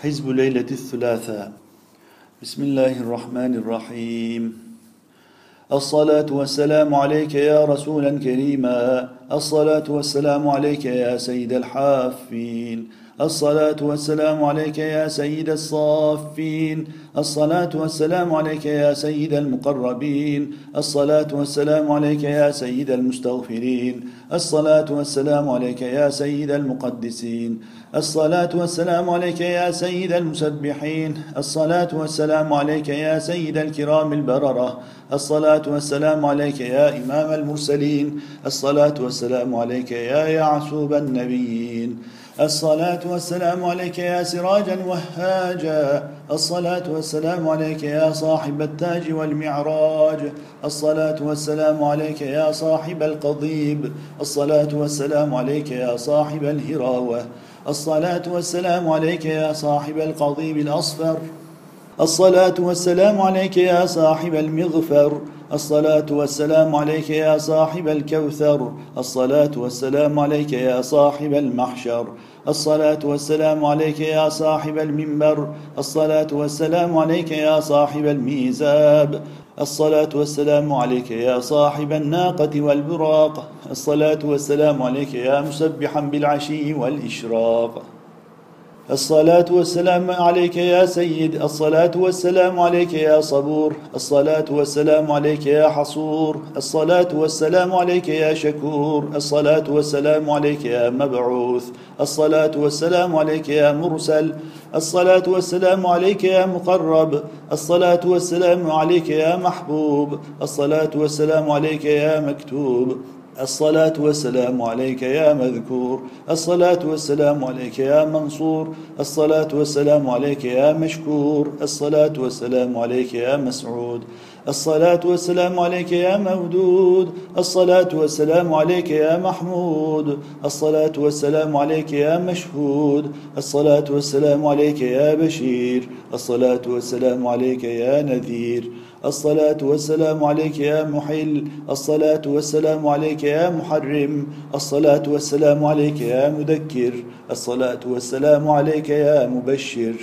حزب ليلة الثلاثاء. بسم الله الرحمن الرحيم. الصلاة والسلام عليك يا رسولا كريما، الصلاة والسلام عليك يا سيد الحافين، الصلاة والسلام عليك يا سيد الصافين، الصلاة والسلام عليك يا سيد المقربين، الصلاة والسلام عليك يا سيد المستغفرين، الصلاة والسلام عليك يا سيد المقدسين، الصلاة والسلام عليك يا سيد المسبحين، الصلاة والسلام عليك يا سيد الكرام البررة، الصلاة والسلام عليك يا إمام المرسلين، الصلاة والسلام عليك يا يعسوب النبيين، الصلاة والسلام عليك يا سراجا وهاجا، الصلاة والسلام عليك يا صاحب التاج والمعراج، الصلاة والسلام عليك يا صاحب القضيب، الصلاة والسلام عليك يا صاحب الهراوة، الصلاة والسلام عليك يا صاحب القضيب الأصفر، الصلاة والسلام عليك يا صاحب المغفر، الصلاة والسلام عليك يا صاحب الكوثر، الصلاة والسلام عليك يا صاحب المحشر، الصلاة والسلام عليك يا صاحب المنبر، الصلاة والسلام عليك يا صاحب الميزاب، الصلاة والسلام عليك يا صاحب الناقة والبراق، الصلاة والسلام عليك يا مسبحا بالعشي والإشراق، الصلاة والسلام عليك يا سيد، الصلاة والسلام عليك يا صبور، الصلاة والسلام عليك يا حصور، الصلاة والسلام عليك يا شكور، الصلاة والسلام عليك يا مبعوث، الصلاة والسلام عليك يا مرسل، الصلاة والسلام عليك يا مقرب، الصلاة والسلام عليك يا محبوب، الصلاة والسلام عليك يا مكتوب، الصلاة والسلام عليك يا مذكور، الصلاة والسلام عليك يا منصور، الصلاة والسلام عليك يا مشكور، الصلاة والسلام عليك يا مسعود، الصلاة والسلام عليك يا مودود، الصلاة والسلام عليك يا محمود، الصلاة والسلام عليك يا مشهود، الصلاة والسلام عليك يا بشير، الصلاة والسلام عليك يا نذير، الصلاة والسلام عليك يا محل، الصلاة والسلام عليك يا محرم، الصلاة والسلام عليك يا مذكر، الصلاة والسلام عليك يا مبشر،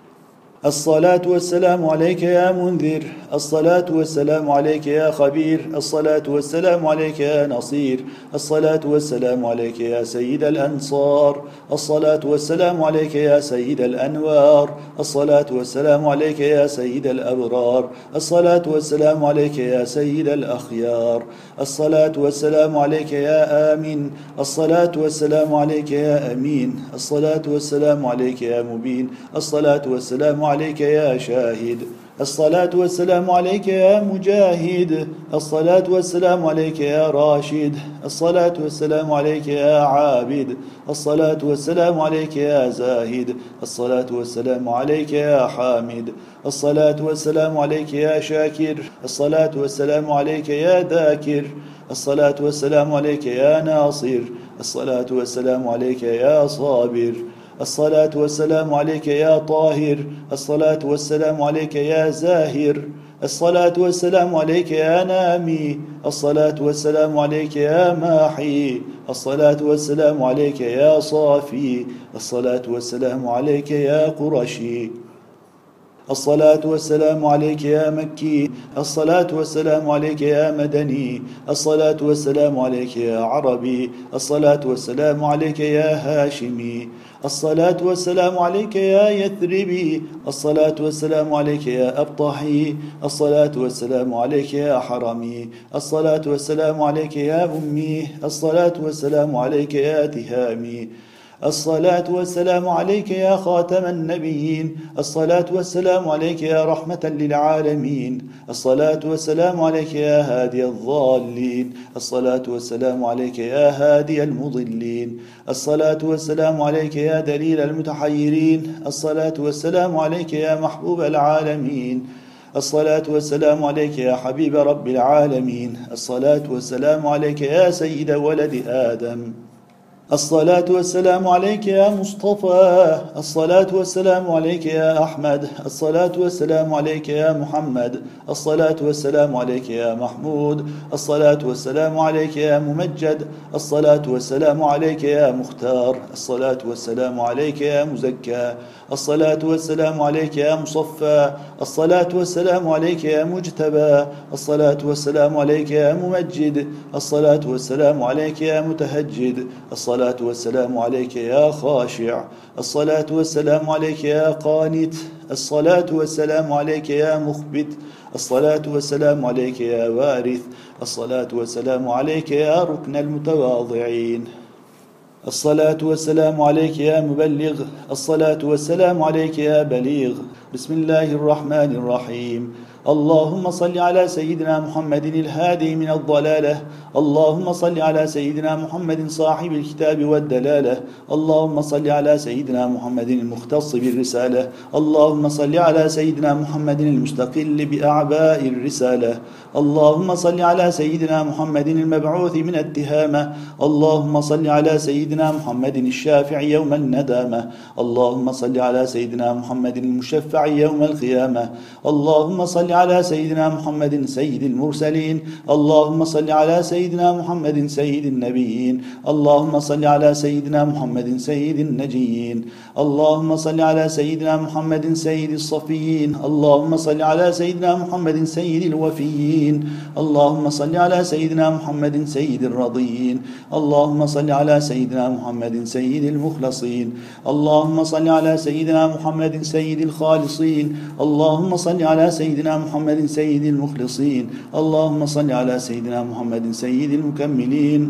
الصلاة والسلام عليك يا منذر، الصلاة والسلام عليك يا خبير، الصلاة والسلام عليك يا نصير، الصلاة والسلام عليك يا سيد الأنصار، الصلاة والسلام عليك يا سيد الأنوار، الصلاة والسلام عليك يا سيد الأبرار، الصلاة والسلام عليك يا سيد الأخيار، الصلاة والسلام عليك يا آمين، الصلاة والسلام عليك يا أمين، الصلاة والسلام عليك يا مبين، الصلاة والسلام عليك يا شاهد، الصلاة والسلام عليك يا مجاهد، الصلاة والسلام عليك يا راشد، الصلاة والسلام عليك يا عابد، الصلاة والسلام عليك يا زاهد، الصلاة والسلام عليك يا حامد، الصلاة والسلام عليك يا شاكر، الصلاة والسلام عليك يا ذاكر، الصلاة والسلام عليك يا ناصر، الصلاة والسلام عليك يا صابر، الصلاة والسلام عليك يا طاهر، الصلاة والسلام عليك يا زاهر، الصلاة والسلام عليك يا نامي، الصلاة والسلام عليك يا ماحي، الصلاة والسلام عليك يا صافي، الصلاة والسلام عليك يا قرشي، الصلاة والسلام عليك يا مكي، الصلاة والسلام عليك يا مدني، الصلاة والسلام عليك يا عربي، الصلاة والسلام عليك يا هاشمي، الصلاة والسلام عليك يا يثربي، الصلاة والسلام عليك يا أبطحي، الصلاة والسلام عليك يا حرمي، الصلاة والسلام عليك يا أمي، الصلاة والسلام عليك يا تهامي، الصلاة والسلام عليك يا خاتم النبيين، الصلاة والسلام عليك يا رحمة للعالمين، الصلاة والسلام عليك يا هادي الضالين، الصلاة والسلام عليك يا هادي المضلين، الصلاة والسلام عليك يا دليل المتحيرين، الصلاة والسلام عليك يا محبوب العالمين، الصلاة والسلام عليك يا حبيب رب العالمين، الصلاة والسلام عليك يا سيد ولد آدم، الصلاة والسلام عليك يا مصطفى. الصلاة والسلام عليك يا أحمد. الصلاة والسلام عليك يا محمد. الصلاة والسلام عليك يا محمود. الصلاة والسلام عليك يا ممجد. الصلاة والسلام عليك يا مختار. الصلاة والسلام عليك يا مزكى. الصلاة والسلام عليك يا مصفى. الصلاة والسلام عليك يا مجتبى. الصلاة والسلام عليك يا ممجد. الصلاة والسلام عليك يا متهجد. الصلاة والسلام عليك يا خاشع. الصلاة والسلام عليك يا قانت. الصلاة والسلام عليك يا مخبت. الصلاة والسلام عليك يا وارث. الصلاة والسلام عليك يا ركن المتواضعين. الصلاة والسلام عليك يا مبلغ. الصلاة والسلام عليك يا بليغ. بسم الله الرحمن الرحيم. اللهم صل على سيدنا محمد الهادي من الضلالة. اللهم صل على سيدنا محمد صاحب الكتاب والدلالة. اللهم صل على سيدنا محمد المختص بالرسالة. اللهم صل على سيدنا محمد المستقل بأعباء الرسالة. اللهم صل على سيدنا محمد المبعوث من التهامة. اللهم صل على سيدنا محمد الشافع يوم الندامة. اللهم صل على سيدنا محمد المشفع يوم القيامة. اللهم صل على سيدنا محمد سيد المرسلين. اللهم صل على سيدنا محمد سيد النبيين. اللهم صل على سيدنا محمد سيد النجيين. اللهم صل على سيدنا محمد سيد الصفيين. اللهم صل على سيدنا محمد سيد الوفيين. اللهم صل على سيدنا محمد سيد الرضيين. اللهم صل على سيدنا محمد سيد المخلصين. اللهم صل على سيدنا محمد سيد الخالصين. اللهم صل على سيدنا محمد سيد المخلصين. اللهم صل على سيدنا محمد سيد المكملين.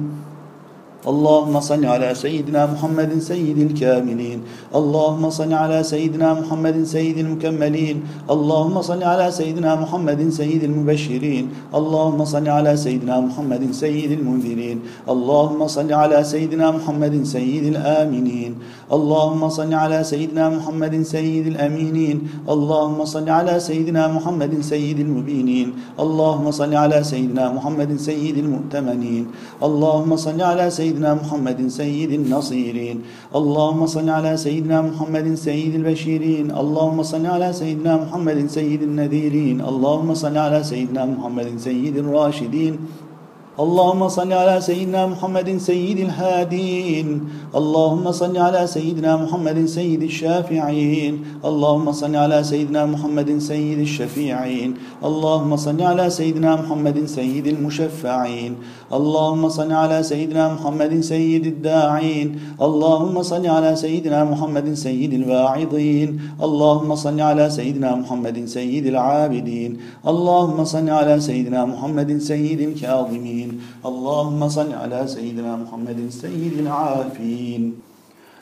اللهم صل على سيدنا محمد سيد الكاملين. اللهم صل على سيدنا محمد سيد المكملين. اللهم صل على سيدنا محمد سيد المبشرين. اللهم صل على سيدنا محمد سيد المنذرين. اللهم صل على سيدنا محمد سيد الآمنين. اللهم صل على سيدنا محمد سيد الأمينين. اللهم صل على سيدنا محمد سيد المبينين. اللهم صل على سيدنا محمد سيد المؤتمنين. اللهم صل على سيدنا محمد سيد النصيرين. اللهم صل على سيدنا محمد سيد البشيرين. اللهم صل على سيدنا محمد سيد النذيرين. اللهم صل على سيدنا محمد سيد الراشدين. اللهم صل على سيدنا محمد سيد الهادين. اللهم صل على سيدنا محمد سيد الشافعين. اللهم صل على سيدنا محمد سيد الشفيعين. اللهم صل على سيدنا محمد سيد المشفعين. اللهم صل على سيدنا محمد سيد الداعين. اللهم صل على سيدنا محمد سيد الواعظين. اللهم صل على سيدنا محمد سيد العابدين. اللهم صل على سيدنا محمد سيد الكاظمين. اللهم صل على سيدنا محمد سيد العافين.